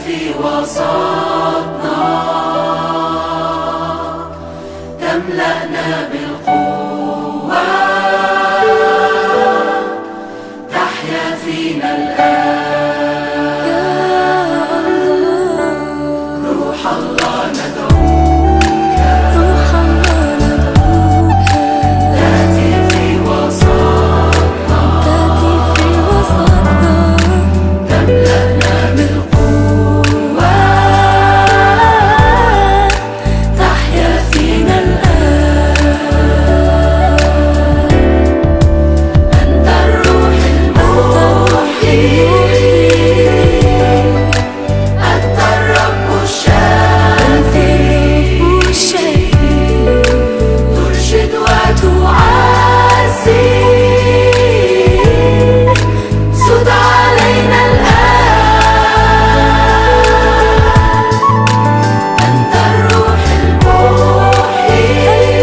في وسطنا، تملأنا بالقوة، تحيا فينا الآن. روح الله ندعوك، روح الله ندعوك، تأتي في وسطنا، تأتي في وسطنا، تملأنا بالقوة، تحيا فينا الآن. أنت الروح المحيي، أنت الرب الشافي، ترشد وتعزي، سد علينا الآن. أنت الروح المحيي،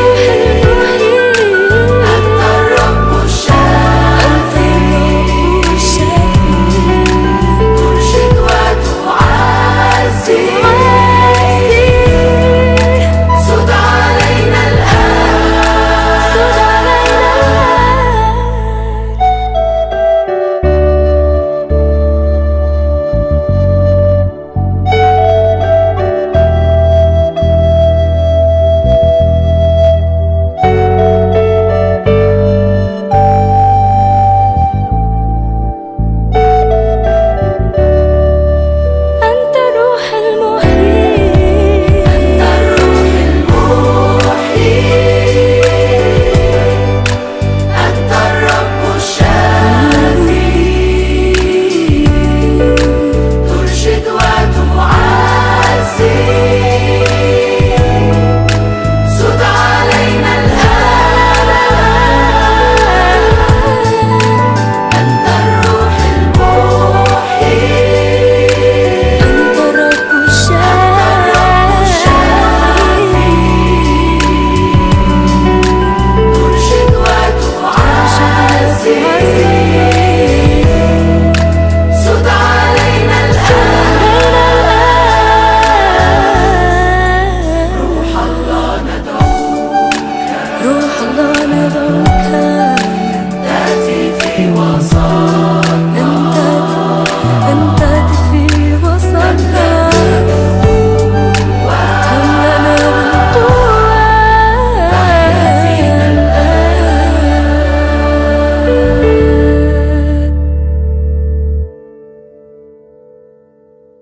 أنت الرب الشافي، ترشد وتعزي، سد علينا أنت الروح المحيي، أنت الروح المحيي، أنت الرب الشافي، ترشد وتعزي، سد علينا الآن. أنت الروح المحيي، أنت الرب الشافي، ترشد وتعزي، سد علينا الآن. روح الله ندعوك، روح الله ندعوك،